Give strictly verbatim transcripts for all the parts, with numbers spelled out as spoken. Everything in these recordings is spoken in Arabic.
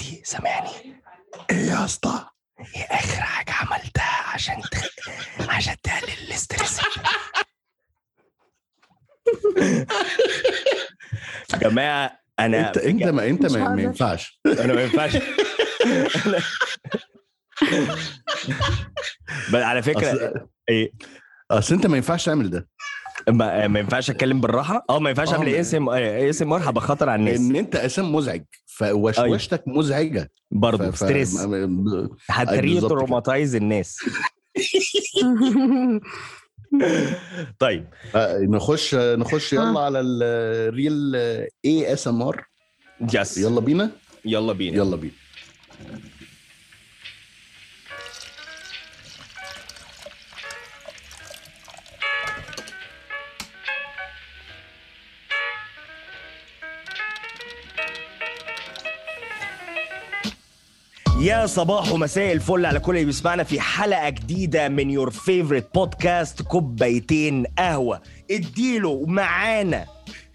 هريدي سامعني ايه يا اسطى؟ ايه اخر حاجه عملتها عشان تخ... عشان تقلل الاسترس؟ يا جماعه انا انت انت ما انت ما, ما ينفعش انا ما ينفعش بس على فكره أصل... ايه اصل انت ما ينفعش تعمل ده. ما, ما ينفعش اتكلم بالراحه اه ما ينفعش اعمل اسم اسم مرحبا خطر على الناس لان انت اسم مزعج فوشوشتك أيوه. مزعجه برضه ف... ستريس ف... هتري تروماتايز الناس. طيب نخش نخش يلا على الريل اي اس ام ار. يس يلا بينا يلا بينا يلا بينا يا صباح ومساء الفل على كل اللي بيسمعنا في حلقة جديدة من يور فيفورت بودكاست كوبايتين قهوة. اديله معانا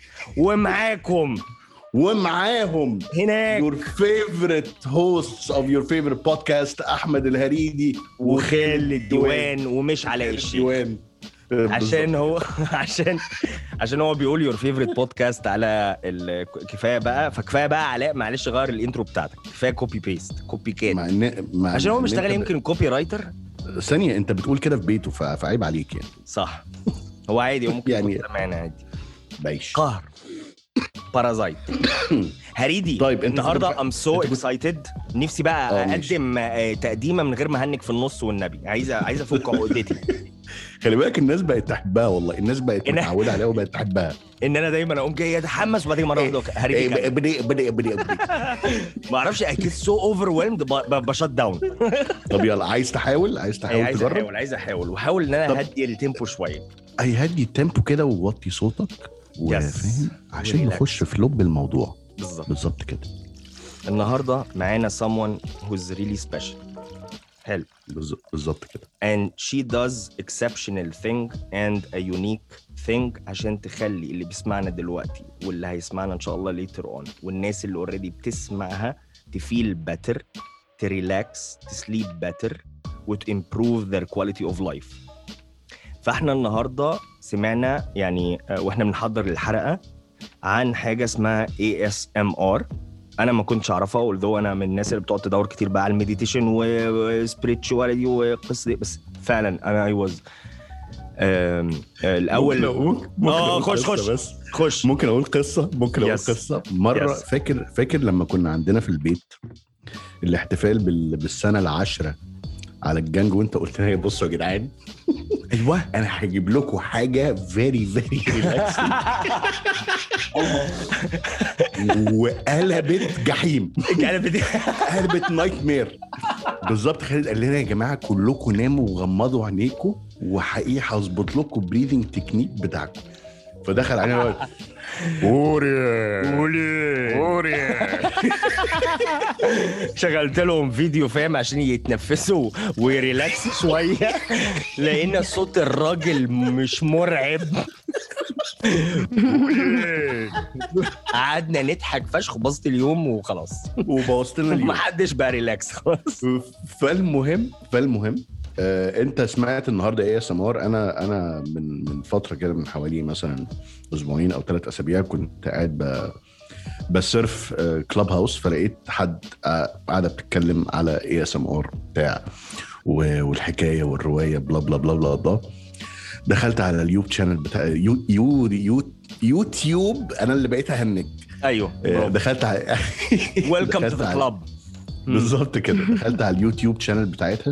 ومعاكم ومعاهم هناك your favorite hosts of your favorite podcast أحمد الهريدي وخالد الديوان ومش علاء الشيخ عشان هو عشان عشان هو بيقول يور فيفورت بودكاست على الكفايه بقى. فكفايه بقى علاء معلش غير الانترو بتاعتك كفايه كوبي بيست كوبي كات مع إن... مع عشان هو مشتغل يمكن كوبي رايتر. ثانيه انت بتقول كده في بيته فعيب عليك يعني. صح هو عادي ممكن يعني معانا عادي بايش قهر بارازايت هريدي. طيب النهارده ام سو اكسايتد نفسي بقى اقدم تقديمه من غير ما هنك في النص والنبي. عايزه عايزه افك عقدتي. خلي بالك الناس بقت تحبها والله. الناس بقت متعوده عليها وبقت تحبها. ان انا دايما اقوم جاي اتحمس وبعدين مره واحده هريدي بدي بدي بدي ما اعرفش اكيد سو اوفرويلمد بشات داون. طب يلا عايز تحاول عايز تحاول عايز تجرب احاول عايز احاول وحاول ان انا اهدي التيمبو شويه. اي هدي التيمبو كده ووطي صوتك وفاهم عشان نخش في لب الموضوع. بالظبط بالظبط كده. النهارده معانا someone who's really special. حلو بالظبط كده. and she does exceptional thing and a unique thing عشان تخلي اللي بيسمعنا دلوقتي واللي هيسمعنا ان شاء الله later on والناس اللي already بتسمعها تفيل better تريلاكس تسليب better وتimprove their quality of life. فاحنا النهارده سمعنا يعني واحنا بنحضر الحلقه عن حاجه اسمها إيه إس إم آر. انا ما كنتش اعرفها والذو انا من الناس اللي بتقعد تدور كتير بقى على المديتيشن وسبيريتشواليتي وقصه بس فعلا انا اي واز الاول اه خش خش بس خش ممكن اقول قصه ممكن اقول yes. قصه مره yes. فاكر فاكر لما كنا عندنا في البيت الاحتفال بالسنه العاشره على الجنج وانت قلت لي بصوا يا جدعان ايوه انا هجيب لكم حاجه فيري فيري ريلاكسنج وقلبت جحيم قلبت قلبت نايت مير بالظبط. خالد قال لنا يا جماعه كلكم ناموا وغمضوا عينيكم وحقيقي هظبط لكم بريذنج تكنيك بتاعكم. فدخل علينا اوري اوري اوري شغلت لهم فيديو فاهم عشان يتنفسوا ويريلاكس شويه لان صوت الراجل مش مرعب. قعدنا نضحك فشخ بوظت اليوم وخلاص وبوظتنا اليوم محدش بقى ريلاكس خلاص. فالمهم فالمهم آه، انت سمعت النهارده ايه يا سمار؟ انا انا من من فتره كده من حوالي مثلا اسبوعين او ثلاث اسابيع كنت قاعد ب بسيرف آه، كلاب هاوس فلقيت حد آه، قاعده بتتكلم على ايه اس ام ار بتاع والحكايه والروايه بلا بلا بلا بلا بلا. دخلت على اليوتيوب شانل بتاع يو يو يو يوتيوب انا اللي بقيت اهنج. ايوه آه، دخلت على ويلكم تو ذا كلاب بالظبط كده. دخلت على اليوتيوب شانل بتاعتها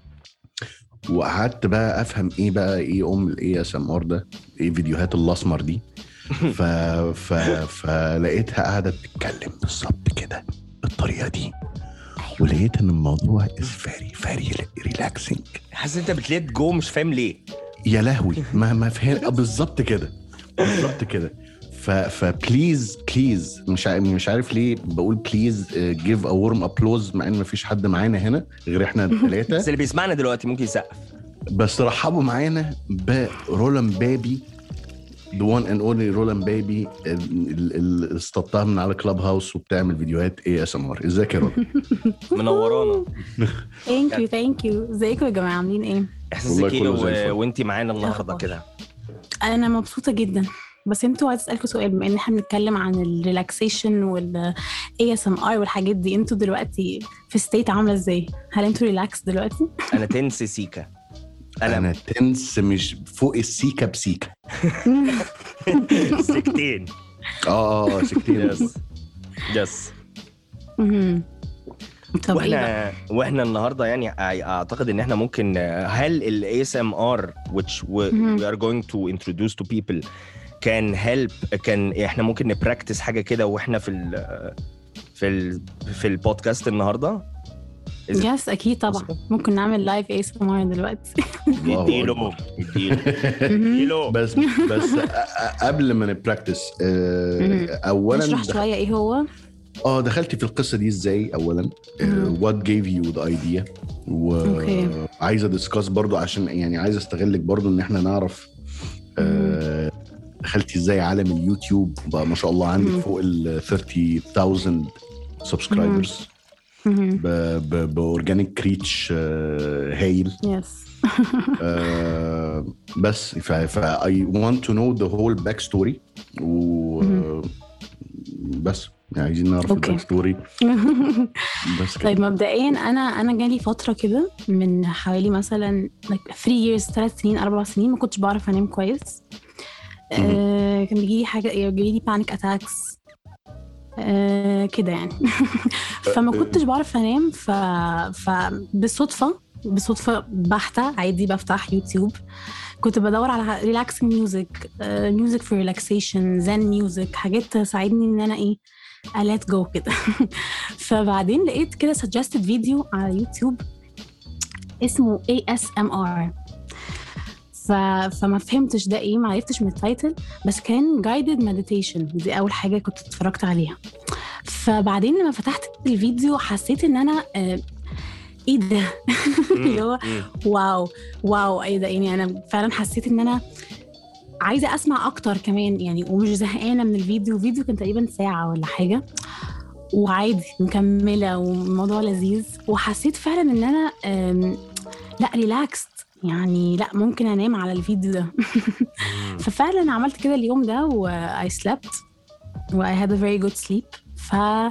وقعدت بقى افهم ايه بقى ايه ام الاي اس ام ار ده ايه فيديوهات الاسمر دي. ف ف فلقيتها قاعده بتتكلم بالظبط كده بالطريقه دي ولقيت ان الموضوع is very very relaxing. حاسس انت بتليت جو مش فاهم ليه يا لهوي ما ما فهم بالظبط كده بالظبط كده. ف فبليز بليز مش عارف مش عارف ليه بقول بليز جيف ا وورم ابلوز مع ان مفيش حد معانا هنا غير احنا الثلاثه. بس اللي بيسمعنا دلوقتي ممكن يسقف. بس رحبوا معانا برولان بابي the one and only Roland Baby اللي استطاع من على كلاب هاوس وبتعمل فيديوهات اي اس ام ار. ازيك يا رولا؟ منورانا. ثانك يو ثانك يو. ازيكم يا جماعه عاملين ايه؟ احساسك ايه و... وانتي معانا النهارده كده؟ انا مبسوطه جدا. بس انتوا عايز اسالكم سؤال، بما ان احنا بنتكلم عن الريلاكسيشن والاي اس ام ار والحاجات دي، انتوا دلوقتي في ستيت عامله ازاي؟ هل انتوا ريلاكس دلوقتي؟ انا تنس سيكا. انا انا تنس مش فوق السيكا بسيكا. سكتين. اه سكتين. يس يس. طب واحنا واحنا النهارده يعني اعتقد ان احنا ممكن، هل ال A S M R which we are going to introduce to people can help، كان احنا ممكن نبراكتس حاجه كده واحنا في ال في ال في البودكاست النهارده؟ يس اكيد طبعا. ممكن نعمل لايف A S M R دلوقتي. اديله اديله. بس بس قبل ما نبراكتس اولا نشرح شويه ايه هو. اه دخلتي في القصه دي ازاي اولا؟ what gave you the idea؟ وعايزه ديسكاس برضو عشان يعني عايزه استغلك برضو ان احنا نعرف آه دخلتي ازاي عالم اليوتيوب بقى. ما شاء الله عندك فوق ال ثلاثين ألف سبسكرايبرز باورجانيك ريتش هايل. يس. بس ف I want to know the whole back story و بس يعني عايزين نعرف الباك ستوري. بس طيب مبدئيا انا انا جالي فتره كده من حوالي مثلا like three years ثلاث سنين أربع سنين ما كنتش بعرف انام كويس. آه كان بيجي لي حاجه بيجي لي بانيك اتاكس آه كده يعني. فما كنتش بعرف انام. ف فبالصدفه بالصدفه بحته عادي بفتح يوتيوب، كنت بدور على ريلاكسنج ميوزك، ميوزك فور ريلاكسيشن، زن ميوزك، حاجات تساعدني ان انا ايه let go كده. فبعدين لقيت كده suggested فيديو على يوتيوب اسمه A S M R. ف... فما فهمتش ده ايه، ما عرفتش من التايتل، بس كان guided meditation. دي اول حاجه كنت اتفرجت عليها. فبعدين لما فتحت الفيديو حسيت ان انا آه ايه ده. اللي هو واو واو ايه ده. يعني انا فعلا حسيت ان انا عايزه اسمع اكتر كمان يعني، ومش زهقانه من الفيديو. الفيديو كان تقريبا ساعه ولا حاجه وعادي مكمله والموضوع لذيذ. وحسيت فعلا ان انا لا ريلاكست يعني، لا ممكن انام على الفيديو ده. ففعلا عملت كده اليوم ده و I slept و I had a very good sleep. ف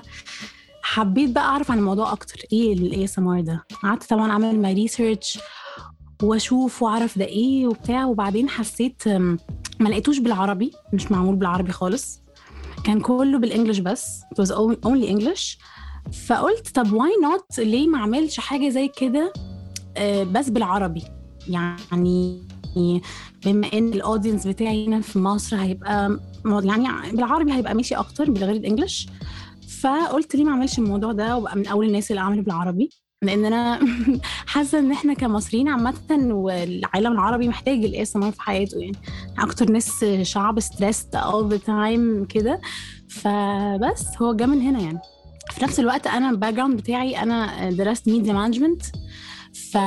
حبيت بقى أعرف عن الموضوع أكتر، إيه ال A S M R ده. قعدت طبعاً أعمل my research وأشوف وأعرف ده إيه وبتاع. وبعدين حسيت ما لقيتوش بالعربي، مش معمول بالعربي خالص، كان كله بالإنجليش بس. it was only English. فقلت طب why not، ليه ما عملش حاجة زي كده بس بالعربي؟ يعني بما إن الأودينس بتاعي هنا في مصر هيبقى يعني بالعربي هيبقى ماشي أكتر بالغير الإنجليش. فقلت ليه ما اعملش الموضوع ده وبقى من اول الناس اللي عملوا بالعربي، لان انا حاسه ان احنا كمصريين عامه والعالم العربي محتاج الاي اس ام ار في حياته. يعني اكتر ناس شعب ستريسد all the time كده. فبس هو جا من هنا يعني. في نفس الوقت انا الباك جراوند بتاعي انا درست ميديا مانجمنت. ف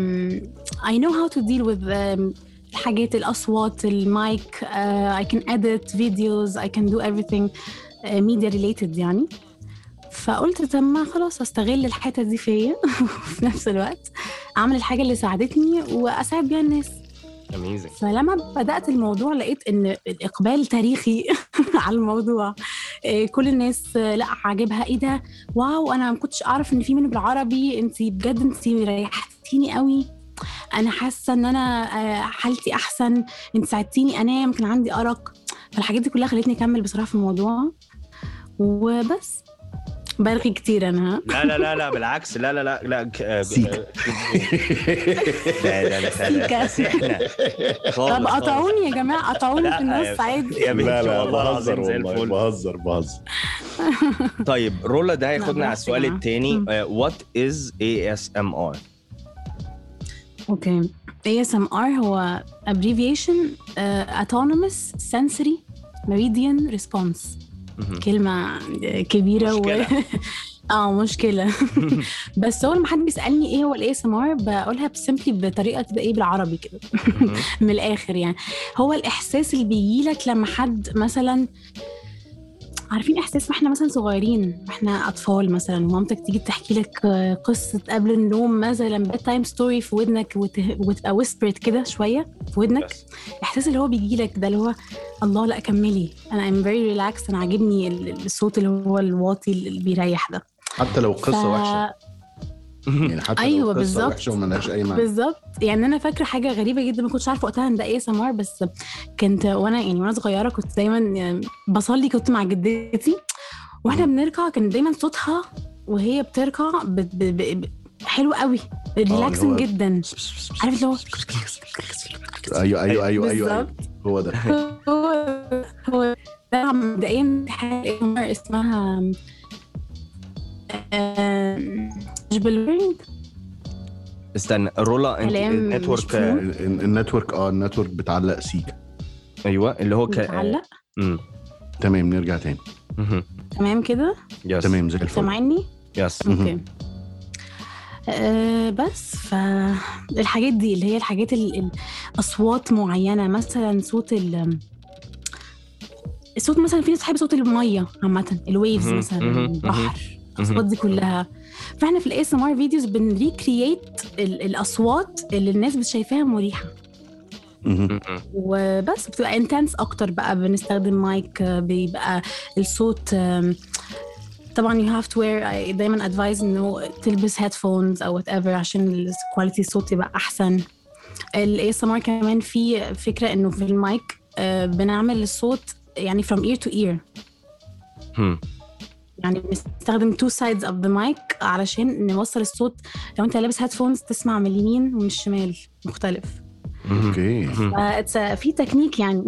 I know how to deal with الحاجات، الاصوات، المايك. uh, I can edit videos, I can do everything ميديا ريليتد يعني. فقلت طب ما خلاص استغل الحته دي فيا وفي نفس الوقت اعمل الحاجه اللي ساعدتني واساعد بيها الناس. اميزنج. فلما بدات الموضوع لقيت ان الاقبال تاريخي على الموضوع. كل الناس لا عاجبها ايه ده، واو انا ما كنتش اعرف ان في منه بالعربي، انتي بجد انتي ريحتيني قوي، انا حاسه ان انا حالتي احسن، انت ساعدتيني انام كان عندي ارق. فالحاجات دي كلها خلتني اكمل بصراحه في الموضوع. وبس برغي كتير انا. لا لا لا لا بالعكس. لا لا لا لا سيكا. لا لا لا سيحنا. طب قطعوني يا جماعه، قطعوني في النص عادي. لا لا بهزر والله بهزر بهزر. طيب رولا ده هياخدنا على السؤال الثاني. what is A S M R؟ اوكي. A S M R هو abbreviation uh, autonomous sensory meridian response. كلمة كبيرة و... اه مشكله. بس هو لما حد بيسالني ايه هو الاي اس ام ار بقولها بسمبلي بطريقه كده ايه بالعربي كده. من الاخر يعني هو الاحساس اللي بيجيلك لما حد مثلا عارفين احساس ما احنا مثلا صغيرين احنا اطفال مثلا ومامتك تيجي تحكي لك قصه قبل النوم مثلا باد تايم ستوري في ودنك وتبقى ويسبرت كده شويه في ودنك. الاحساس اللي هو بيجي لك ده اللي هو الله لا كملي انا ام فيري ريلاكس انا عاجبني الصوت اللي هو الواطي اللي بيريح ده حتى لو قصه ف... وحشه يعني حتى أيوة لو قصه بالزبط. وحشه وما لهاش اي معنى. بالظبط يعني انا فاكره حاجه غريبه جدا ما كنتش عارفه وقتها ان ده ايه سمار بس كنت وانا يعني وانا صغيره كنت دايما بصلي كنت مع جدتي واحنا بنركع كان دايما صوتها وهي بتركع ب... ب... ب... حلو قوي ريلاكسنج جدا عارف اللي هو ايوه ايوه ايوه ايوه هو ده هو هو ده مبدئيا حاجه اسمها جبلورينج. استنى رولا انت النتورك النتورك اه النتورك بتعلق سيكا. ايوه اللي هو ك... بتعلق امم تمام نرجع تاني. تمام كده يس. تمام زي الفل. سامعني يس. اوكي. أه بس فالحاجات دي اللي هي الحاجات الاصوات معينه مثلا صوت ال الصوت مثلا في ناس بتحب صوت الميه عامه الويفز مثلا البحر الاصوات دي كلها. فاحنا في الاي اس ام ار فيديوز بنريكرييت الاصوات اللي الناس بتشايفاها مريحه وبس بتبقى انتنس اكتر بقى بنستخدم مايك بيبقى الصوت طبعا you have to wear دايما advise انه تلبس headphones او whatever عشان الكواليتي الصوت يبقى احسن. الاي اس ام ار كمان في فكره انه في المايك بنعمل الصوت يعني from ear to ear يعني بنستخدم two sides of the mic علشان نوصل الصوت لو انت لابس headphones تسمع من اليمين ومن الشمال مختلف. اوكي في تكنيك يعني.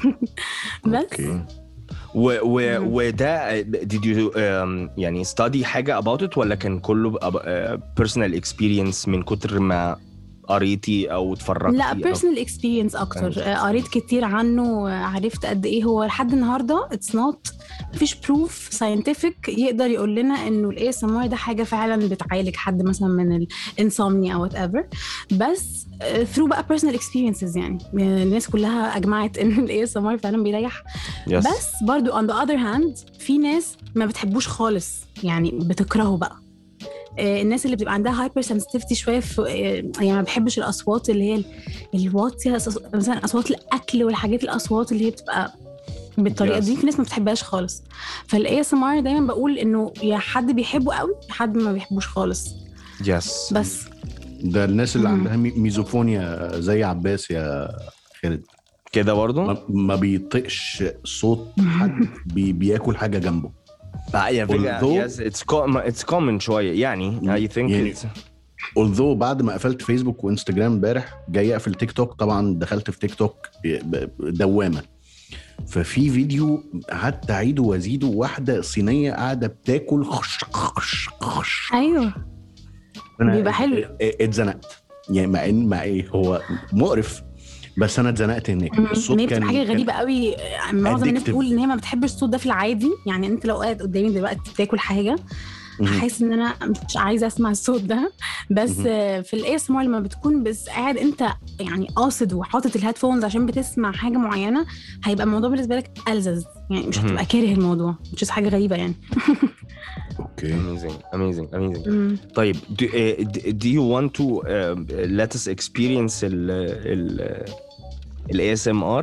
بس اوكي و و وده did you um, يعني study حاجة about it ولا كان كله uh, personal experience من كتر ما قريتي او اتفرجتي؟ لا personal experience اكتر. قريت كتير عنه عرفت قد ايه هو لحد النهارده it's not مفيش proof scientific يقدر يقول لنا انه الاي اس ام ار ده حاجه فعلا بتعالج حد مثلا من الانسومنيا او whatever بس through بقى personal experiences يعني الناس كلها اجمعت ان الاي اس ام ار فعلا بيريح. yes. بس برضو on the other hand في ناس ما بتحبوش خالص يعني بتكرهه بقى. الناس اللي بتبقى عندها هايبر سنسيتيفيتي شويه في يعني ما بحبش الاصوات اللي هي الواطيه مثلا اصوات الاكل والحاجات الاصوات اللي هي بتبقى بالطريقه yes. دي في ناس ما بتحبهاش خالص. فالاي اس ام ار دايما بقول انه يا حد بيحبه قوي يا حد ما بيحبوش خالص. يس yes. بس ده الناس اللي عندها ميزوفونيا زي عباس يا خالد كده برضو ما, ما بيطقش صوت حد بي بياكل حاجه جنبه. يا فكرة yes it's common it's common شوية يعني I think يعني it's although بعد ما قفلت فيسبوك وانستجرام امبارح جاي اقفل تيك توك طبعا دخلت في تيك توك دوامة ففي فيديو قعدت اعيده وازيده واحدة صينية قاعدة بتاكل خش خش خش ايوه بيبقى حلو. اتزنقت يعني مع ان مع ايه هو مقرف بس انا اتزنقت هناك. الصوت كان حاجه غريبه قوي. معظم الناس بتقول ان هي ما بتحبش الصوت ده في العادي يعني انت لو قاعد قدامي دلوقتي بتاكل حاجه حاسس ان انا مش عايزه اسمع الصوت ده بس في الاي اس ام ار لما بتكون بس قاعد انت يعني قاصد وحاطط الهيدفونز عشان بتسمع حاجه معينه هيبقى الموضوع بالنسبه لك ألذذ يعني مش هتبقى كاره الموضوع مش حاجه غريبه يعني. اوكي amazing amazing amazing. طيب do, uh, do you want to uh, let us experience ال ال ال إيه إس إم آر?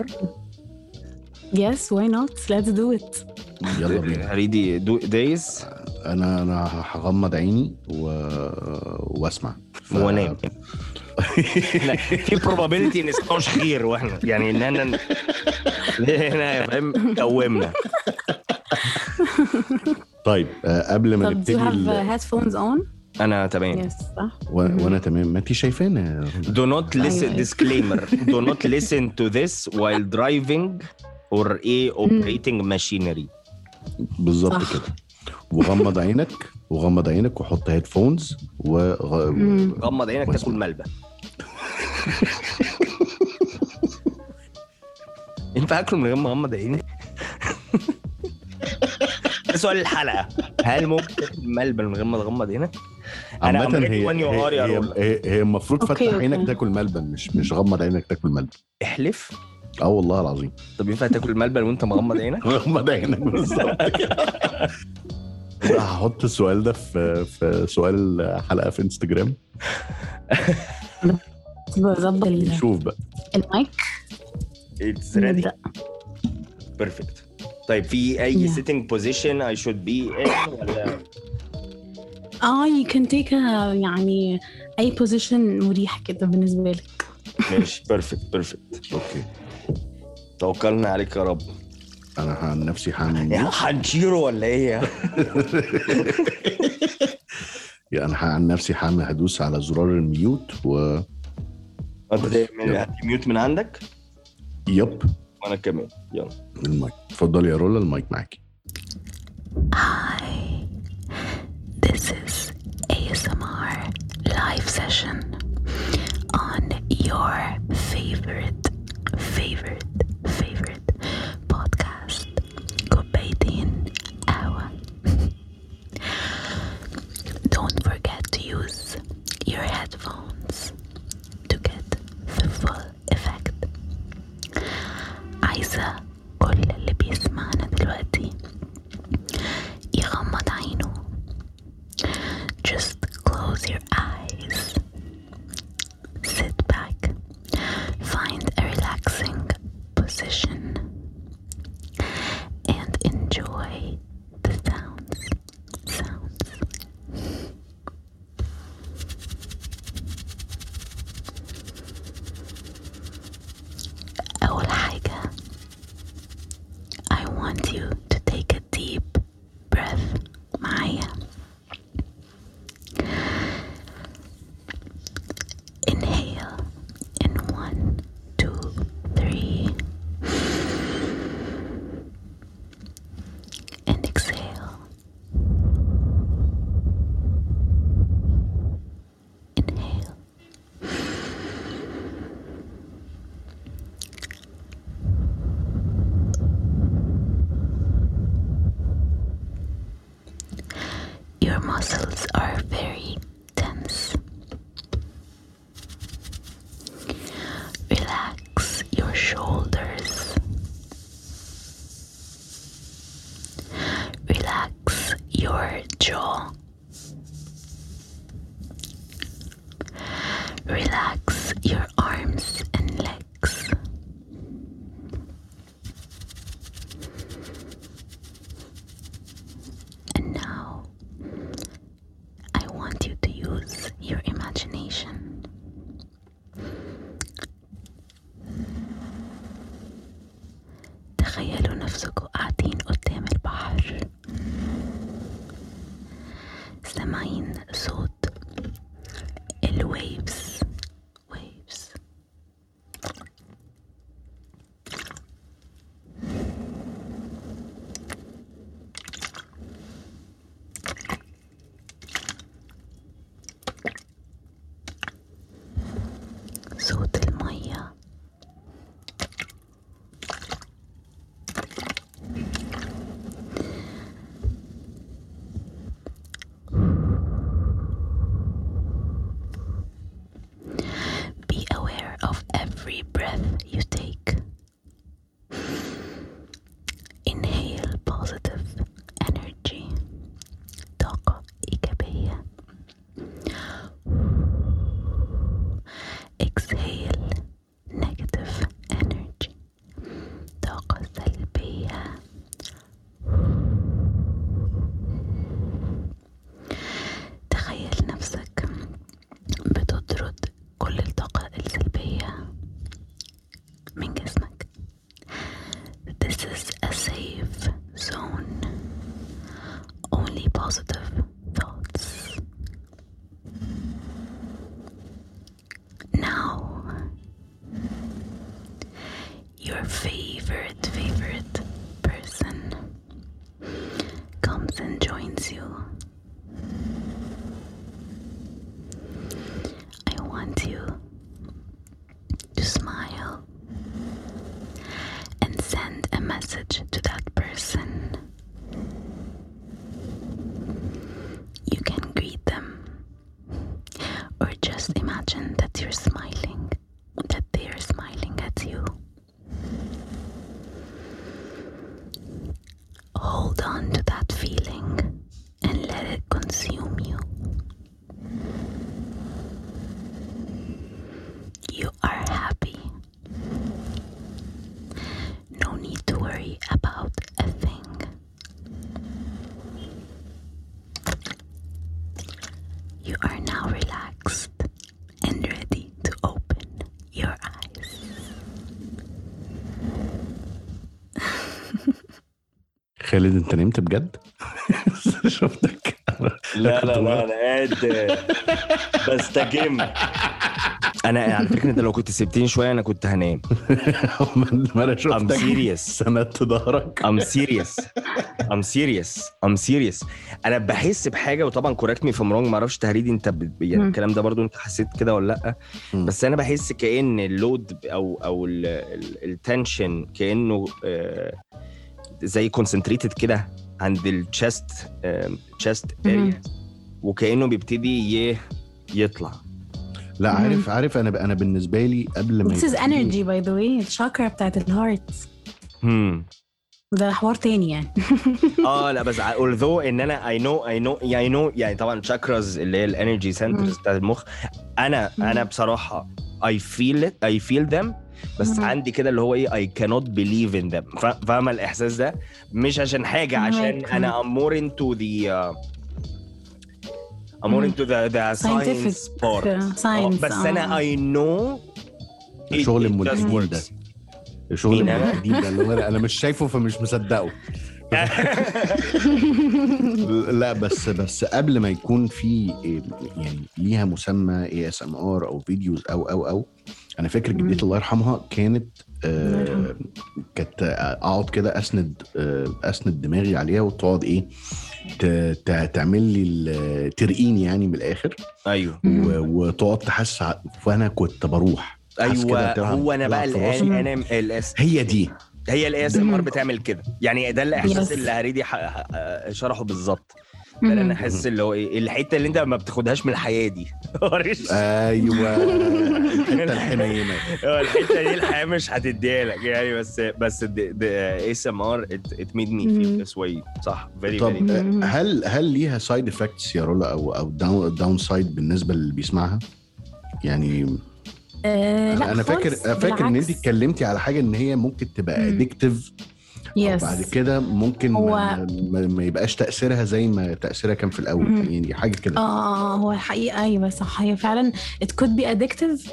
Yes, why not? Let's do it. يلا بينا. هريدي do days. أنا أنا هغمض عيني و... واسمع. ف... ونام. في probability إن اسمعوش خير وإحنا يعني إن أنا هنا فاهم قومنا. طيب قبل ما نبتدي. طب do you have headphones on? أنا تمام. Yes, صح. و... وأنا تمام. ما أنتي شايفانا. Do not listen. Disclaimer. Do not listen to this while driving or a operating machinery. بالظبط كده. وغمض عينك وغمض عينك وحط هيدفونز وغمض عينك تاكل ملبن. ينفع أكل من غير ما أغمض عيني؟ ده سؤال الحلقة. هل ممكن تاكل ملبن من غير ما تغمض عينك؟ عامة I'm ready هي when you are يا هي رولا. هي, هي المفروض أوكي، فتح أوكي. عينك تاكل ملبن، مش مش غمض عينك تاكل ملبن. احلف. اه والله العظيم. طب ينفع تاكل ملبن وانت مغمض عينك؟ غمض عينك بالظبط كده. ده هحط السؤال ده في في سؤال حلقة في انستجرام. بظبط ال- نشوف بقى. المايك. It's ready. نبدأ. Perfect. طيب في أي Yeah. sitting position I should be in ولا؟ اه you can take a يعني اي position مريح كده بالنسبه لك. ماشي. Perfect perfect. اوكي توكلنا عليك يا رب. انا عن نفسي هعمل يا هنشيره ولا ايه؟ يعني انا عن نفسي هعمل هدوس على زرار الميوت و انت هتعمل ميوت من عندك؟ يب وانا كمان. يلا. المايك اتفضل يا رولا، المايك معاكي. Hi, this is A S M R live session on your favorite, favorite, favorite podcast, كوبايتين قهوة. Don't forget to use your headphones to get the full effect. عايزة كل اللي بيسمعنا دلوقتي يغمض عينه. Just close your eyes. Sit back. Find a relaxing position and enjoy the sounds. Sounds. أول حاجة, I want you to take a deep breath معايا. Inhale in one, two, three, and exhale. Inhale. Your muscles are very tense. Relax your shoulders. Relax your jaw. Relax your arms and legs. And now I want you to use your imagination. تخيلوا نفسكم قاعدين قدام البحر, سامعين صوت الويفز. waves. صوت المية. Be aware of every breath you take. Inhale positive energy. طاقة إيجابية. Exhale negative energy. طاقة سلبية. تخيل نفسك بتطرد كل الطاقة السلبية من جسمك. This is a safe zone. Only positive thoughts. Now, your favorite, favorite person comes and joins you. I want you to smile and send a message to that person. imagine that you're smiling, that they're smiling at you. Hold on to that feeling and let it consume you. You are happy. No need to worry about a thing. You are now relaxed and ready to open your eyes. خالد انت نمت بجد؟ شفتك. لا لا لا انا قاعد بستجم. انا على فكره انت لو كنت سبتني شويه انا كنت هنام. ما انا شفتك. I'm serious. سندت ظهرك. I'm serious. I'm serious. I'm serious. انا بحس بحاجه وطبعا correct me from wrong. ما اعرفش تهريدي انت ب... يعني الكلام ده برضو انت حسيت كده ولا لا؟ بس انا بحس كأن اللود او او التنشن كأنه آه زي concentrated كده عند الشست chest area وكأنه بيبتدي يطلع. لا عارف عارف انا انا بالنسبه لي قبل ما This is energy by the way. الشاكرا بتاعت الهارت. امم ده حوار تاني يعني. اه لا بس although ان انا I know I know يعني I know يعني طبعا chakras اللي هي الانرجي سنترز بتاعت المخ. انا انا بصراحه I feel it I feel them. بس عندي كده اللي هو ايه I cannot believe in them. فاهمه الاحساس ده؟ مش عشان حاجه عشان انا I'm more into the uh, I'm more into the the science part. science بس انا I know شغل الملحدين ده. شغل الملحدين ده اللي انا مش شايفه فمش مصدقه. لا بس بس قبل ما يكون في يعني ليها مسمى إيه إس إم آر او فيديوز او او او انا فاكر جدتي الله يرحمها كانت آه كانت اقعد كده اسند آه اسند دماغي عليها وتقعد ايه تعمل لي ترقيني يعني من الاخر. ايوه وتقعد تحس وانا كنت بروح. ايوه هو انا بقى الان انا الاس هي دي هي الاي اس ام ار بتعمل كده يعني. ده الاحساس اللي هريدي شرحه بالظبط. ده انا احس اللي هو ايه الحته اللي انت ما بتاخدهاش من الحياه دي. ايوه الحته الحنينه. الحته دي الحياه مش هتديها لك يعني. بس بس اي اس ام ار ات ميد مي فيل ذس واي. صح فيري فيري. هل هل ليها سايد افكتس يا رولا او او داون داون سايد بالنسبه اللي بيسمعها يعني؟ أه انا, أنا فاكر فاكر ان انت اتكلمتي على حاجه ان هي ممكن تبقى ادكتيف. yes. بعد كده ممكن هو... ما, ما يبقاش تاثيرها زي ما تاثيرها كان في الاول. م- يعني حاجه كده. اه هو الحقيقه ايوه صح. هي فعلا it could be addictive.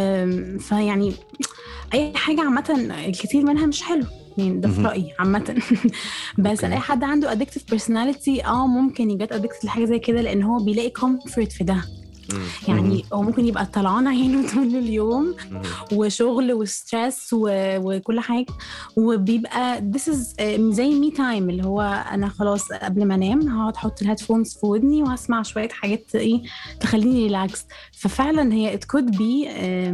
فيعني اي حاجه عامه الكثير منها مش حلو يعني. ده في رايي عامه. بس okay. اي حد عنده addictive personality اه ممكن يجي addicted لحاجه زي كده لان هو بيلاقي comfort في ده. يعني هو ممكن يبقى طلعان عينه طول اليوم وشغل وستريس وكل حاجة وبيبقى this is زي مي تايم اللي هو أنا خلاص قبل ما أنام هقعد أحط الهيدفونز في ودني وهسمع شوية حاجات إيه تخليني ريلاكس. ففعلا هي it could be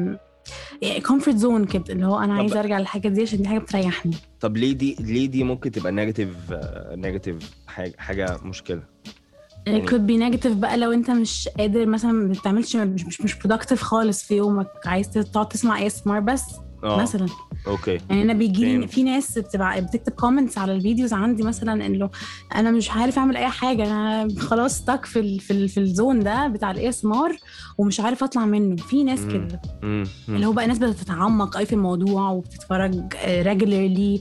comfort zone كده اللي هو أنا عايزة أرجع للحاجة دي عشان دي حاجة بتريحني. طب ليه دي ليه دي ممكن تبقى نيجاتيف نيجاتيف حاجة حاجة مشكلة؟ يعني could be negative بقى لو انت مش قادر مثلا ما بتعملش مش مش مش productive خالص في يومك عايز تقعد تسمع إيه إس إم آر بس أوه. مثلا اوكي يعني انا بيجي في ناس بتبقى بتكتب كومنتس على الفيديوز عندي مثلا انه انا مش عارف اعمل اي حاجه انا خلاص ستاك في ال في ال في الزون ده بتاع الاي اس ام ار ومش عارف اطلع منه. في ناس كده اللي هو بقى ناس بتتعمق اي في الموضوع وبتتفرج ريجولارلي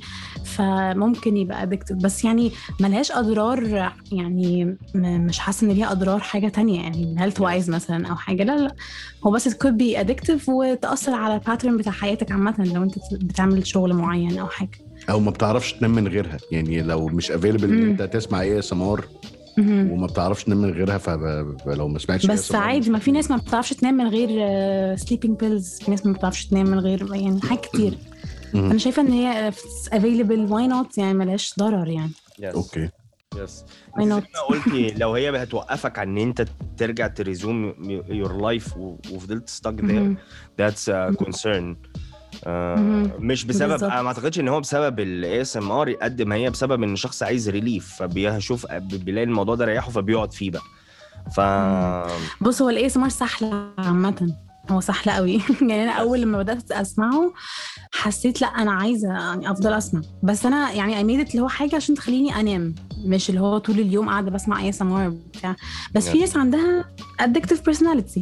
فممكن يبقى ادكتيف بس يعني ملهاش اضرار يعني مش حاسه ان ليها اضرار حاجه تانية يعني هيلث وايز مثلا او حاجه. لا لا هو بس it could be addictive وتاثر على الباترن بتاع حياتك عامه لو انت بتعمل شغل معين او حاجه او ما بتعرفش تنام من غيرها يعني لو مش available ان انت تسمع ايه اس ام ار وما بتعرفش تنام من غيرها فلو ما سمعتش بس عادي ما في ناس ما بتعرفش تنام من غير sleeping pills. في ناس ما بتعرفش تنام من غير يعني حاجات كتير. انا شايفه ان هي available why not يعني ملهاش ضرر يعني. اوكي يس زي قلتي لو هي هتوقفك عن ان انت ترجع تريزوم يور لايف وفضلت ستاك there that's a concern. آه مش بسبب بالزبط. ما اعتقدش ان هو بسبب الاي اس ام ار قد ما هي بسبب ان الشخص عايز ريليف فبيشوف بيلاقي الموضوع ده ريحه فبيقعد فيه بقى. ف بص هو الاي اس ام ار سهله عامه هو سهل قوي. يعني انا اول لما بدات اسمعه حسيت لا انا عايزه يعني افضل اسمع، بس انا يعني ايميدت اللي هو حاجه عشان تخليني انام، مش اللي هو طول اليوم قاعده بسمع اي سمار بتاع. بس في ناس عندها addictive personality.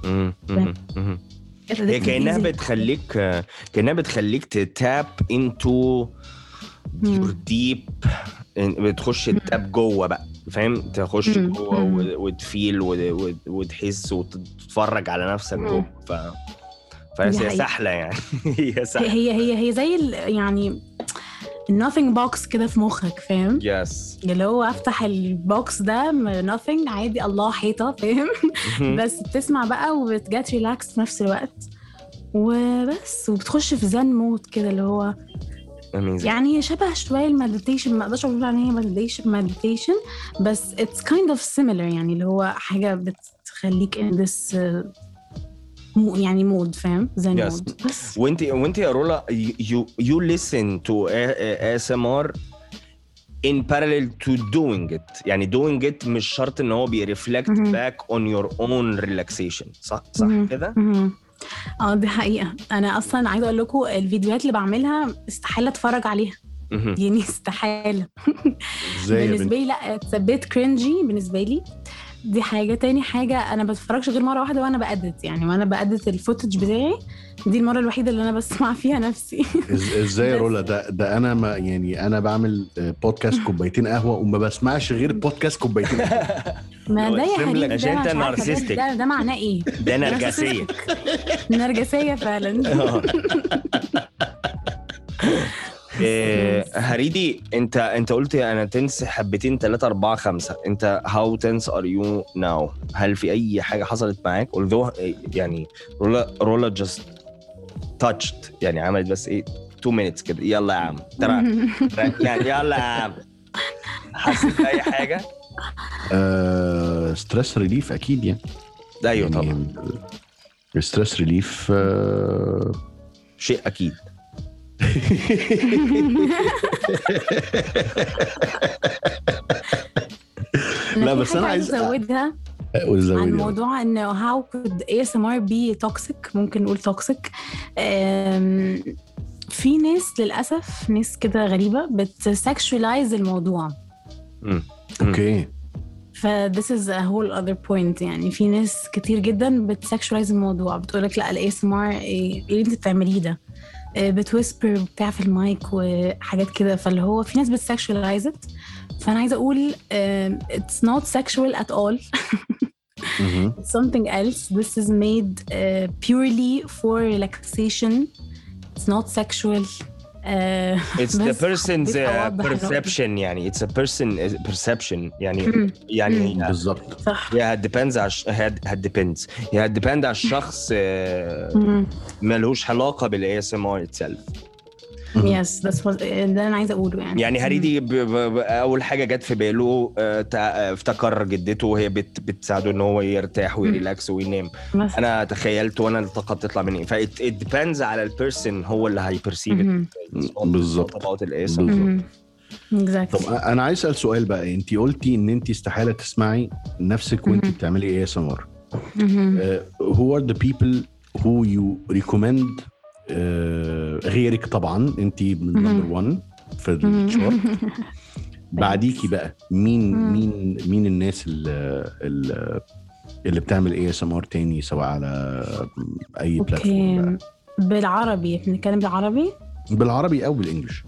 هي كأنها بتخليك كأنها بتخليك تتاب into your deep، بتخش التاب جوه بقى، فاهم؟ تخش جوه وتفيل وتحس وتتفرج على نفسك جوه. ف فهي سهله يعني. هي سهله، هي هي هي زي يعني nothing box كده في مخك، فاهم؟ يس yes. اللي هو افتح البوكس ده nothing عادي، الله حيطه، فاهم؟ بس بتسمع بقى وبتجات ريلاكس في نفس الوقت وبس، وبتخش في زن مود كده اللي هو Amazing. يعني شبه شويه المديتيشن. ما اقدرش اقول عليها مديتيشن مديتيشن بس it's kind of similar، يعني اللي هو حاجه بتخليك in this مو يعني مود، فاهم؟ زي yes. مود. وانت وانت يا رولا you you listen to إيه إس إم آر in parallel to doing it. يعني doing it مش شرط ان هو بي reflect mm-hmm. back on your own relaxation. صح صح mm-hmm. كده. mm-hmm. اه دي حقيقة. انا اصلا عايزة اقول لكم الفيديوهات اللي بعملها استحالة اتفرج عليها. mm-hmm. يعني استحالة. بالنسبة لي لا تثبت كرينجي بالنسبة لي. دي حاجة. تاني حاجة أنا بتفرجش غير مرة واحدة وأنا بأدت، يعني وأنا بأدت الفوتج بتاعي دي المرة الوحيدة اللي أنا بسمع فيها نفسي. إزاي يا رولا؟ ده ده أنا ما يعني أنا بعمل بودكاست كوبايتين قهوة وما بسمعش غير بودكاست كوبايتين قهوة. ما ده يا حبيبي عشان أنت نارسيستيك. ده, ده معناه إيه؟ ده نرجسية. نرجسية فعلا. إيه هريدي، انت انت قلت انا تنس حبتين ثلاثة أربعة خمسة. انت how tense are you now؟ هل في اي حاجة حصلت معاك؟ although يعني رولا رولا just touched، يعني عملت بس ايه two minutes كده، يلا يا عم ترى يعني يلا يا عم، حسيت اي حاجة؟ آه ستريس ريليف اكيد يعني. ايوه يعني طبعا ستريس ريليف آه شيء اكيد. لا بس انا عايز ازودها عن موضوع انه how could إيه إس إم آر be toxic. ممكن نقول toxic. في ناس للاسف ناس كده غريبه بتسكشواليز الموضوع. اوكي ف this is a whole other point. يعني في ناس كتير جدا بتسكشواليز الموضوع، بتقولك لا ال إيه إس إم آر ايه اللي انت بتعمليه ده، بتويسبر بتاع في المايك وحاجات كده. فاللي هو في ناس بتسكشواليز it. فانا عايزه اقول uh, it's not sexual at all. mm-hmm. It's something else. This is made uh, purely for relaxation. It's not sexual. Uh, it's the person's uh, perception. يعني it's a person perception. يعني mm-hmm. يعني mm-hmm. بالضبط. yeah it depends على it depends yeah it depends على الشخص. uh, mm-hmm. ملوش علاقه بال إيه إس إم آر itself. yes that's what ده انا عايزه اقوله. يعني يعني هريدي ب... ب... اول حاجه جت في باله افتكر جدته وهي بت... بتساعده ان هو يرتاح ويريلاكس وينام. انا تخيلت وانا الطاقه بتطلع مني. ف it depends على البيرسون هو اللي هيبرسيف بالظبط طبقات الاسم. exactly. طب انا عايز اسال سؤال بقى. انت قلتي ان انت استحاله تسمعي نفسك وانت بتعملي إيه إس إم آر. who are the people who you recommend Uh, غيرك طبعا انت من نمبر واحد في الشارت. بعديكي بقى مين مين مين الناس اللي اللي بتعمل إيه إس إم آر تاني سواء على اي بلاتفورم؟ بالعربي بنتكلم بالعربي بالعربي او بالانجلش.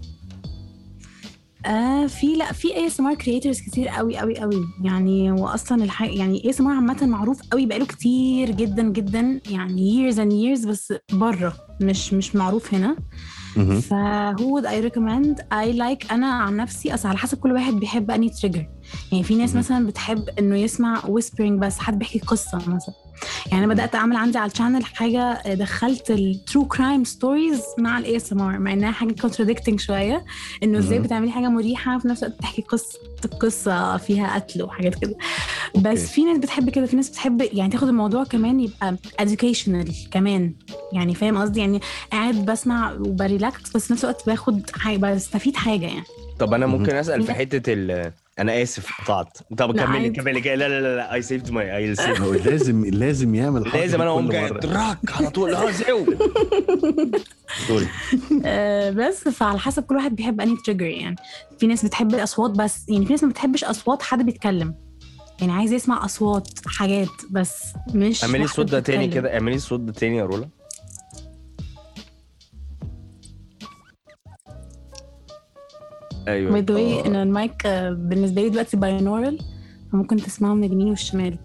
آه في لا في إيه إس إم آر كرييترز كتير قوي قوي قوي يعني. واصلا الحق يعني إيه إس إم آر عامه معروف قوي بقاله كتير جدا جدا يعني years and years، بس بره مش مش معروف هنا. ف who would I recommend? I like أنا عن نفسي أصلا على حسب كل واحد بيحب أني تريجر. يعني في ناس مثلا بتحب إنه يسمع whispering بس، حد بيحكي قصة مثلا. يعني أنا بدأت أعمل عندي على الشانل حاجة دخلت ال true crime stories مع ال إيه إس إم آر، مع إنها حاجة contradicting شوية، إنه إزاي بتعملي حاجة مريحة وفي نفس الوقت بتحكي قصة قصة فيها قتل وحاجات كده. بس okay. في ناس بتحب كده، في ناس بتحب يعني تاخد الموضوع كمان يبقى educational كمان. يعني فاهم قصدي؟ يعني قاعد بسمع وبريلاكس بس في نفس الوقت باخد حاجة، بستفيد حاجة يعني. طب أنا ممكن أسأل في حتة ال انا اسف قطعت. طب لا، كملي عادي. كملي لا لا لا لا اي سيفد ماي اي سيف هو لازم لازم يعمل حركة لازم انا كل اقوم جاي مرة. دراك على طول اه زيو سوري. آه، بس فعلى حسب كل واحد بيحب انهي تريجر يعني. في ناس بتحب الاصوات بس، يعني في ناس ما بتحبش اصوات حد بيتكلم، يعني عايز يسمع اصوات حاجات بس مش اعملي واحدة الصوت ده تاني بتتكلم. كده اعملي الصوت ده تاني يا رولا. ايوه باي ذا واي ان المايك آه، بالنسبه لي دلوقتي باينورال، فممكن تسمعه من اليمين والشمال.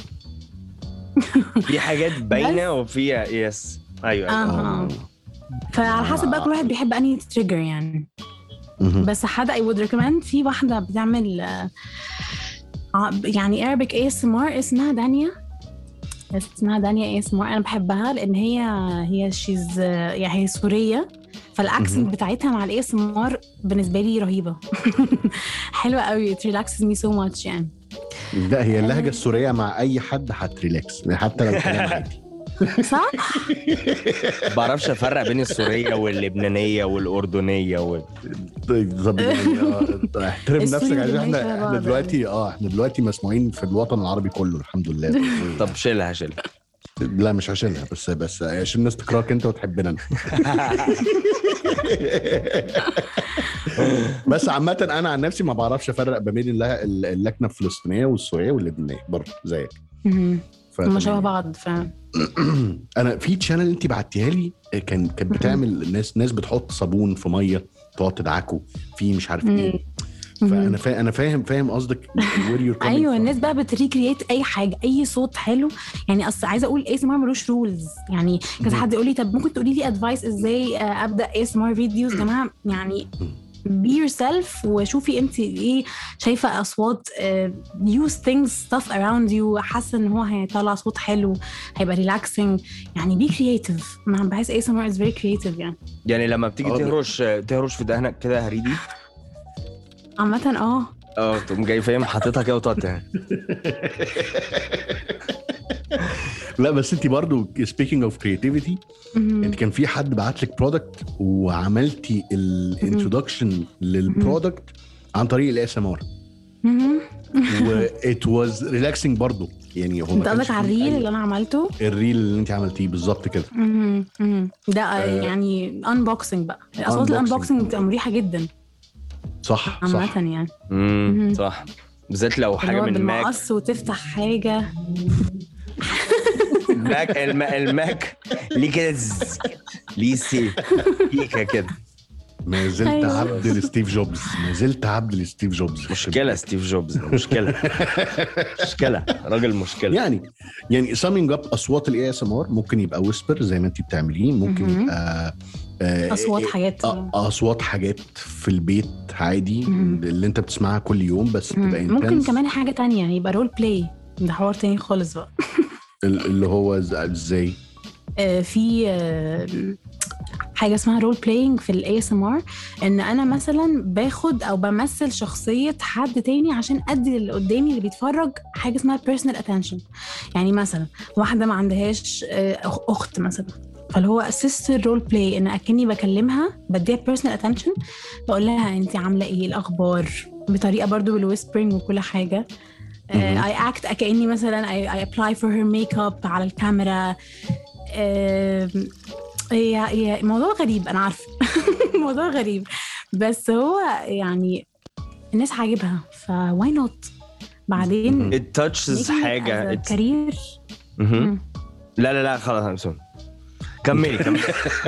في حاجات باينه وفي يس ايوه اه ايوه اه فعلى حسب بقى كل واحد بيحب انهي تريجر يعني. مهم. بس حد I would recommend في واحدة بتعمل آه، ع- يعني Arabic إيه إس إم آر اسمها دانيا اسمها دانيا إيه إس إم آر. أنا بحبها لأن هي هي she's آه، يعني هي سورية، فالأكسنت بتاعتها مع ال إيه إس إم آر بالنسبة لي رهيبة. حلوة قوي. it relaxes me so much يعني. لا هي اللهجة السورية مع أي حد هتريلاكس حتى لو كلام عادي. صح؟ بعرفش افرق بين السوريه واللبنانيه والاردنيه وال... طيب طب يعني آه، احترم السوري نفسك عشان واللبناني شبه احنا احنا بعض دلوقتي اه احنا دلوقتي مسموعين في الوطن العربي كله الحمد لله. طب شيلها شيلها. لا مش عشانها بس بس عشان الناس تكرهك انت وتحبنا انا. بس عامة انا عن نفسي ما بعرفش افرق ما بين اللها- اللكنة الفلسطينية والسورية واللبنانية برضه زيك. مهم. هما ف- شبه بعض فعلا. انا في تشانل انت بعتيها لي كان كانت بتعمل ناس ناس بتحط صابون في ميه تقعد تدعكه في مش عارف ايه. فانا فا... انا فاهم فاهم قصدك where you're coming ايوه from. الناس بقى بتريكريت اي حاجه اي صوت حلو يعني. اصل عايزه اقول اي اس ام ار ملوش رولز يعني. كذا حد يقول لي طب ممكن تقولي لي ادفايس ازاي آه، ابدا اي اس ام ار فيديوز. جماعه يعني be yourself وشوفي انت ايه شايفه اصوات uh, use things stuff around you حاسه ان هو هيطلع صوت حلو هيبقى relaxing يعني. be creative. انا بحس اي اس ام ار is very creative يعني. يعني لما بتيجي آه، تهرش تهرش في دهنك كده هريدي عامه اه اه تقوم جاي فاهم حاططها كده وتقعد. لا بس انت برضو speaking of creativity انت كان في حد بعت لك برودكت وعملتي الانترودكشن للبرودكت عن طريق الاي اس ام ار و it was relaxing برضو يعني. هو انت قصدك على الريل اللي انا عملته؟ الريل اللي انت عملتيه بالظبط كده. مهم. مهم. ده آه يعني انبوكسنج بقى. اصوات unboxing. الانبوكسنج بتبقى مريحه جدا صح عامه صح يعني. امم صح بالذات لو اللي حاجه هو من الماك بالمقص وتفتح حاجه. الماك الم... الماك ليه كده ز- ليه سي فيكا كده. ما زلت أيوة. عبد لستيف جوبز ما زلت عبد لستيف جوبز. مشكله ستيف جوبز مشكله مشكله راجل مشكله. يعني يعني summing up اصوات الاي اس ام ار ممكن يبقى ويسبر زي ما انت بتعمليه ممكن مهم. يبقى آه، اصوات آه، حاجات. آه، اصوات حاجات في البيت عادي مهم. اللي انت بتسمعها كل يوم بس بتبقى مم. ممكن intense. كمان حاجه تانية يبقى رول بلاي. ده حوار تاني خالص بقى. ال- اللي هو ز- ازاي آه، في آه، حاجه اسمها رول بلاينج في الاي اس ام ار. ان انا مثلا باخد او بمثل شخصيه حد تاني عشان ادي اللي قدامي اللي بيتفرج حاجه اسمها personal attention. يعني مثلا واحده ما عندهاش آه، أخ- اخت مثلا فاللي هو sister role play ان اكني بكلمها بديها personal attention بقول لها انت عامله ايه الاخبار بطريقه برضو بالويسبرينج وكل حاجه. مهم. اي اكت كاني مثلا اي ابلاي فور هير ميك اب على الكاميرا. آه، هي هي موضوع غريب انا عارفه. موضوع غريب بس هو يعني الناس عاجبها فواي نوت. بعدين it touches حاجه it... كارير. مهم. لا لا لا خلاص I'm sorry. كملي كملي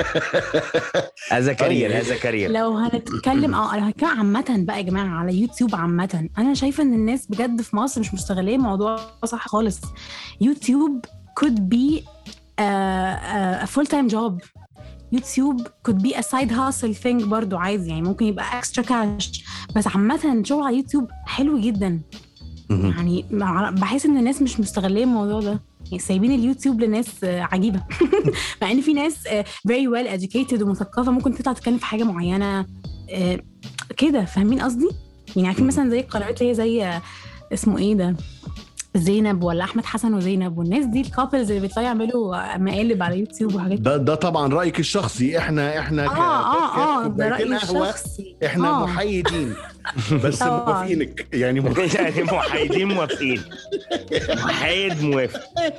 هذا كارير هذا كارير. لو هنتكلم اه لو هنتكلم عامة بقى يا جماعة على يوتيوب عامة انا شايفة ان الناس بجد في مصر مش مستغلية الموضوع صح خالص. يوتيوب could be a, a full time job. يوتيوب could be a side hustle thing برضو عايز يعني ممكن يبقى extra cash. بس عامة شغل على يوتيوب حلو جدا مهم. يعني. بحس ان الناس مش مستغلية الموضوع ده يعني سايبين اليوتيوب لناس آه، عجيبة. مع ان في ناس آه، very well educated ومثقفة ممكن تطلع تتكلم في حاجة معينة آه، كده فاهمين قصدي يعني. عارفين مثلا زي القنوات اللي هي زي آه، اسمه ايه ده زينب ولا احمد حسن وزينب والناس دي الكابلز اللي بيطلعوا يعملوا مقالب على يوتيوب وحاجات. ده ده طبعا رايك الشخصي. احنا احنا اه اه اه ده كوبايتين رأيي قهوة، الشخصي. احنا آه. محايدين بس طبعاً. موافقينك يعني م... يعني محايدين موافقين. محايد موافق.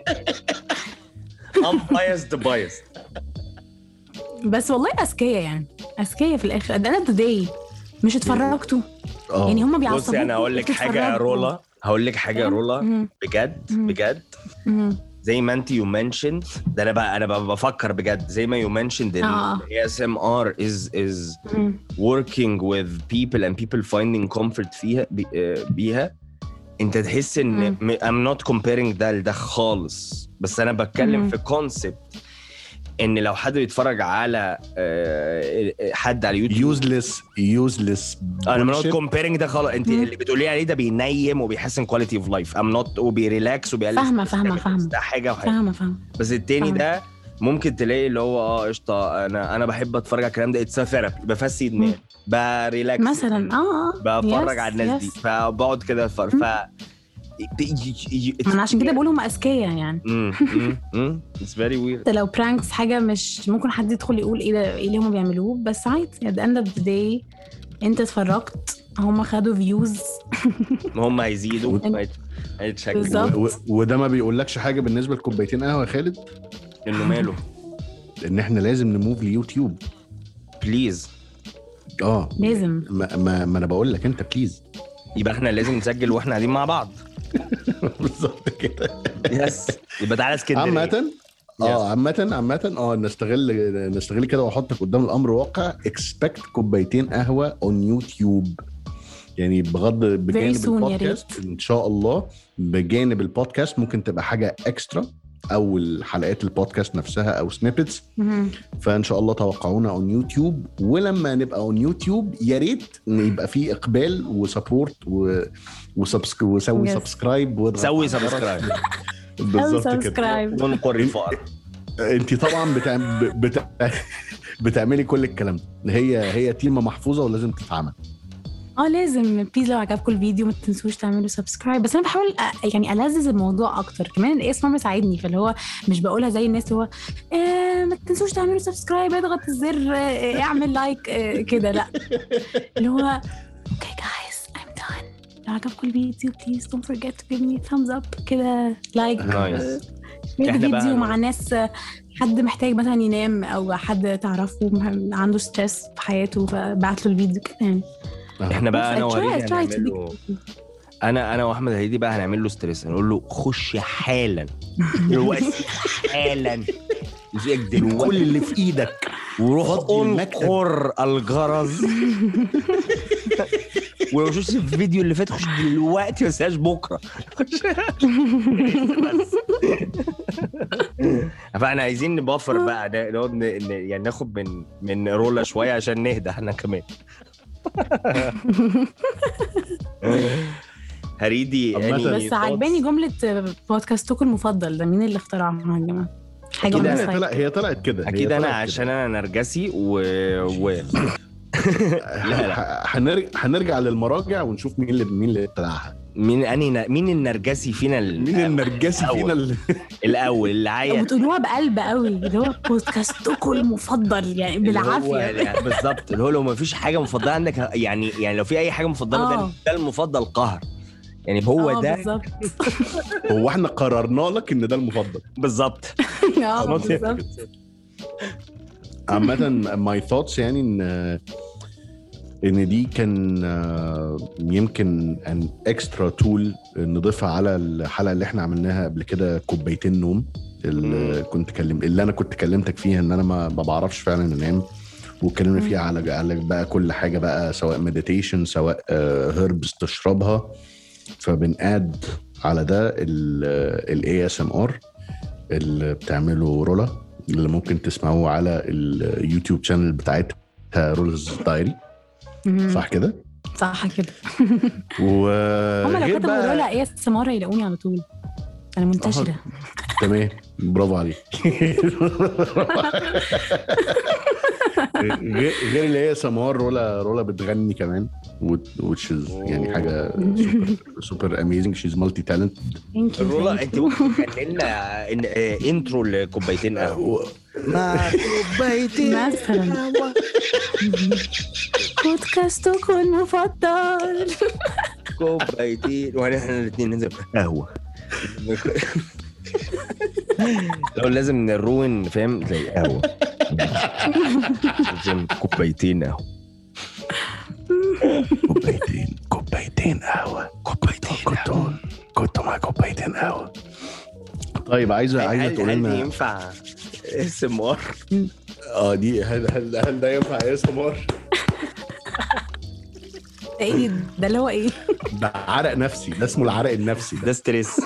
unbiased biased. بس والله اذكياء يعني اذكياء في الاخر. ده انا today مش اتفرجتوا اه يعني هم بصي بيعصبوك. انا هقول لك حاجه يا رولا، هقول لك حاجه يا رولا مم. بجد مم. بجد مم. زي ما انت يو منشند ده انا بقى انا بقى بفكر بجد زي ما يو منشند آه. اي اس ام ار is is مم. working with people and people finding comfort فيها بي- آه، بيها. انت تحس ان مم. م- I'm not comparing ده لده خالص، بس انا بتكلم مم. في concept ان لو حد بيتفرج على آه، حد على يوتيوب يوزلس يوزلس انا not comparing ده خالص. انت مم. اللي بتقولي عليه ده بينيم وبيحسن quality of life. I'm not وبيريلاكس وبيقلل فاهمة stress. فاهمة فاهمة ده حاجه وحاجه. فاهمة فاهمة بس التاني فاهمة. ده ممكن تلاقي اللي هو اه قشطه انا انا بحب اتفرج على الكلام ده اتس ثيرابي بفسي دماغي بريلاكس مثلا اه بتفرج يس، على الناس دي يس. فبقعد كده اتفرج ف ما انا عشان كده بقول هم اذكياء يعني. امم اتس فيري ويرد. حتى لو برانكس حاجه مش ممكن حد يدخل يقول ايه ده ايه اللي هم بيعملوه، بس عادي at the end of the day انت اتفرجت هم خدوا فيوز. هم هيزيدوا هيتشكلوا. بالظبط. و... وده ما بيقولكش حاجه بالنسبه لكوبايتين قهوه يا خالد، انه ماله ان احنا لازم نموف ليوتيوب. بليز اه لازم. ما, ما, ما انا بقول لك انت بليز. يبقى احنا لازم نسجل واحنا قاعدين مع بعض. بالظبط كده. يس يبقى تعالى اسكندريه. عامة اه عامة عامة اه نستغل نستغل كده واحطك قدام الامر واقع. اكسبكت كوبايتين قهوة اون يوتيوب، يعني بغض بجانب soon يا البودكاست ان شاء الله. بجانب البودكاست ممكن تبقى حاجة اكسترا او الحلقات البودكاست نفسها او سنيبتس. مهم. فان شاء الله توقعونا اون يوتيوب، ولما نبقى اون يوتيوب يا ريت ان يبقى فيه اقبال وسبورت و... وسبسك... وسوي Yes. سبسكرايب سوي سبسكرايب بالظبط كده. سبسكرايب. ونقر الفقر. انت طبعا بتعم... بت... بتعملي كل الكلام ده. هي هي تيمه محفوظه ولازم تتعمل. اه لازم. بليز لو عجبكم الفيديو ما تنسوش تعملوا سبسكرايب. بس انا بحاول أ... يعني ألذذ الموضوع اكتر كمان. الاسم مساعدني، فاللي هو مش بقولها زي الناس اللي هو إيه ما تنسوش تعملوا سبسكرايب، اضغط الزر، إيه اعمل لايك، إيه كده. لا اللي هو اوكي جايز I'm done. لو عجبكم الفيديو please don't forget to give me thumbs up كده لايك. Nice. ميك إحنا بقى- فيديو مع ناس حد محتاج مثلا ينام او حد تعرفه عنده ستريس في حياته فبعت له الفيديو كده يعني. احنا بقى انا Try- وهريدي try to هنعمل be- له انا انا واحمد هريدي بقى هنعمل له ستريس. هنقول له خش حالا دلوقتي حالا يجيك دلوقتي كل اللي في ايدك وروح فضي المكتب. انقر الجرس. ولو شفت الفيديو اللي فات خش دلوقتي ما تنساش بكره. بس. فاحنا عايزين نبفر بقى ده نقعد ن- ن- يعني ناخد من من رولا شويه عشان نهدى احنا كمان. هريدي عامة. any بس عجباني thoughts؟ جملة بودكاستكم المفضل ده. مين اللي اخترعها يا جماعة؟ حاجة أكيد من أنا. هي السايت. طلعت هي طلعت كده. اكيد هي انا طلعت عشان كده. انا نرجسي و, و... لا، لا. ح- هنرجع هنرجع للمراجع ونشوف مين اللي مين اللي ابتدعها. مين اني مين النرجسي فينا ال... مين النرجسي الأول. فينا اللي... الاول اللي عايز وبتقولوها بقلب قوي اللي هو بودكاستكم المفضل يعني بالعافية. يعني بالظبط اللي هو لو ما فيش حاجه مفضله عندك يعني يعني لو في اي حاجه مفضله ده آه. ده المفضل قهر يعني هو آه، ده بالظبط. هو احنا قررنا لك ان ده المفضل. بالظبط. اه بالظبط. عامة ماي ثوتس يعني ان ان دي كان آه، يمكن ان اكسترا تول نضيفها على الحلقه اللي احنا عملناها قبل كده، كوبايتين نوم. اللي كنت كلم اللي انا كنت كلمتك فيها ان انا ما ما بعرفش فعلا انام، واتكلمنا فيها على على بقى كل حاجه بقى، سواء مديتيشن سواء هيربس تشربها. فبنقاد على ده الاي اس ام ار اللي بتعمله رولا، اللي ممكن تسمعوه على اليوتيوب شانل بتاعتها رولز دايري. صح كده؟ صح كده. وغير هم لو كتبوا رولا ايه سمارة يلاقوني على طول. انا منتشرة. تمام، برافو عليك. غير غير اللي هي سمار، رولا رولا بتغني كمان which is يعني حاجه سوبر سوبر اميزنج. شيز مالتي تالنت. رولا انت ممكن تغني لنا إن... آه، انترو لكوبايتين قهوه. ما كوبايتين مثلا. بودكاستكم المفضل. كوبايتين واحنا الاثنين ننزل قهوه. لو لازم نروين فاهم زي قهوه. لازم كوبايتين قهوه. كوبايتين كوبايتين قهوه كوبايتين كنتوا كنتوا مع كوبايتين قهوه. طيب عايزه عايزه تقول هل لنا ينفع اسم ار؟ اه دي هل هل هل ده ينفع اسم ار؟ ايه ده اللي هو ايه؟ ده عرق نفسي، ده اسمه العرق النفسي ده ستريس.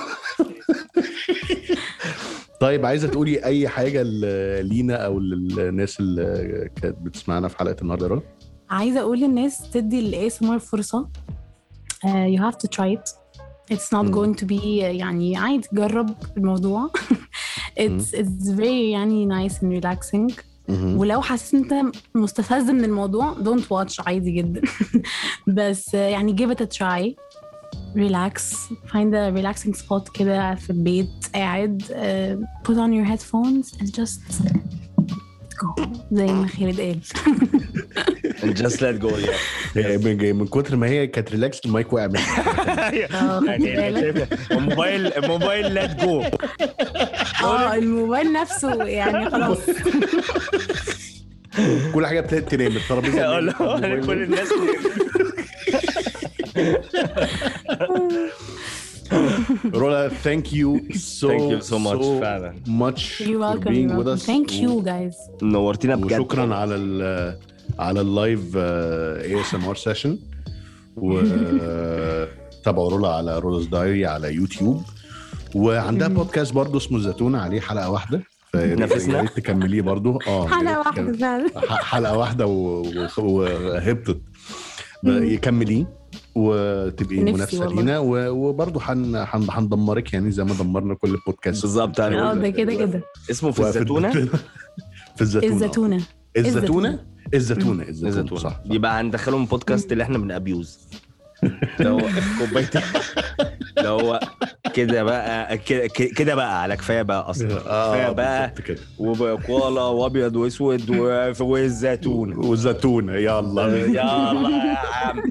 طيب عايزه تقولي اي حاجه لينا او للناس اللي كانت بتسمعنا في حلقه النهارده؟ عايزه اقول للناس تدي الاي اس ام ار فرصه. uh, you have to try it. it's not going to be يعني عادي جرب الموضوع. it's it's very يعني nice and relaxing. ولو حاسس انت مستفز من الموضوع don't watch عادي جدا. بس يعني give it a try. relax, find a relaxing spot كده في البيت قاعد, uh, put on your headphones and just go زي ما خالد قال. and just let go. yeah. من كتر ما هي كانت ريلاكس المايك وقع منها. الموبايل الموبايل let go. اه الموبايل نفسه يعني خلاص. كل حاجه ابتدت تنام, الترابيزه كل الناس. Rola, thank you so thank you so much so فعلا. much You're for welcome, being you're with welcome. us. Thank you guys. نورتينا بجد. وشكرا على ال على اللايف اي اس ام ار سيشن. وتابعوا رولا على رولز دايري على يوتيوب, وعندها بودكاست برضو اسمه الزيتونة, عليه حلقة واحدة, نفسنا تكمليه برضو. اه حلقة واحدة فعلا, حلقة واحدة وهبطت يكمليه وتبقي منافسه لينا, وبرضه هندمرك يعني زي ما دمرنا كل البودكاست بالظبط. اه ده كده كده اسمه في الزيتونه. في الزيتونه الزيتونه الزيتونه الزيتونه الزيتونه صح. يبقى هندخلهم بودكاست اللي احنا بنابيوز. لو كوبايتين لو كده بقى كده بقى على كفايه بقى اصلا. كفايه بقى وبقواله وابيض واسود والزيتون والزيتونه. يلا يلا يا عم.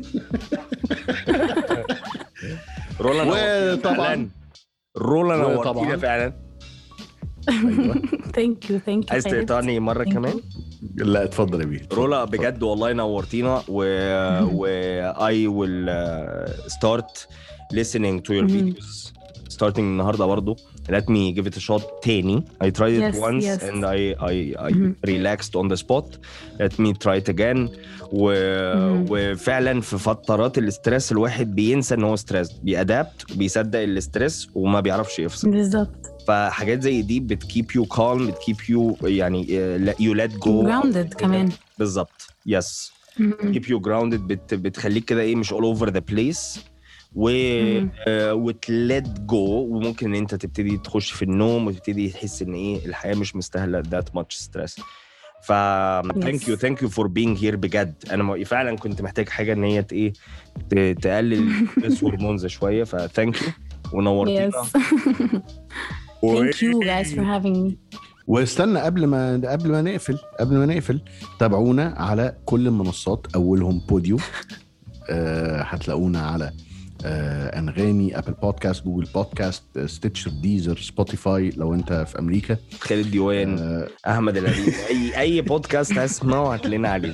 رولا طبعا رولا نورتينا فعلا. ثانك يو ثانك يو. عايز تقطعني مره كمان؟ لا اتفضل يا بيه. رولا بجد والله نورتينا, و و I will uh, start listening to your mm-hmm. videos starting النهارده برضو. Let me give it a shot تاني. I tried it yes, once yes. and I I I mm-hmm. relaxed on the spot. Let me try it again. و mm-hmm. وفعلا في فترات الاسترس الواحد بينسى ان هو ستريس, بيأدابت, بيصدق الاسترس وما بيعرفش يفصل. بالظبط. فحاجات زي دي بتكيب يو كالم, بتكيب يو يعني يو ليت جو grounded كمان. بالظبط. يس keep you grounded. بت بتخليك كده ايه مش all over the place, و وتلت جو, وممكن ان انت تبتدي تخش في النوم وتبتدي تحس ان ايه الحياه مش مستاهله that much stress. ف thank you thank you for being here بجد. انا فعلا كنت محتاج حاجه ان هي ايه تقلل الهرمونز شويه, ف thank you ونورتينا. Thank you guys for having me. واستنى قبل ما قبل ما نقفل قبل ما نقفل تابعونا على كل المنصات, اولهم بوديو. أه هتلاقونا على أه انغامي, ابل بودكاست, جوجل بودكاست, ستيتشر, ديزر, سبوتيفاي لو انت في امريكا, خالد ديوان, أه احمد العليم, اي اي بودكاست هتسمعه هتلاقينا عليه.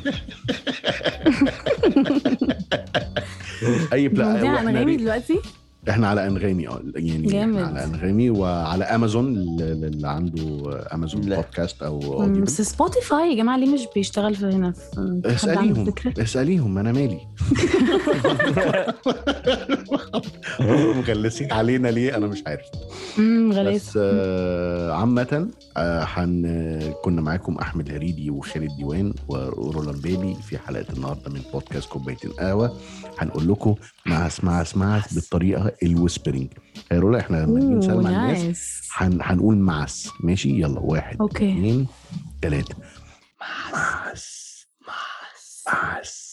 اي بلا انغامي دلوقتي احنا على انغامي اه يعني جامد. على انغامي وعلى امازون اللي عنده امازون لا. بودكاست او اوديو. بس سبوتيفاي يا جماعه ليه مش بيشتغل في هنا؟ في اساليهم اساليهم انا مالي. مغلسين علينا ليه انا مش عارف. امم غلس. بس آه عامه آه حن كنا معاكم احمد هريدي وخالد ديوان ورولان بيبي في حلقه النهارده من بودكاست كوبايتين قهوه. هنقول لكم مع اسمع اسمعك بالطريقه الويسبرنج. يا رولا احنا لما نيجي نسلم على الناس هن... هنقول معس. ماشي يلا واحد أوكي. اثنين ثلاثه. معس معس معس.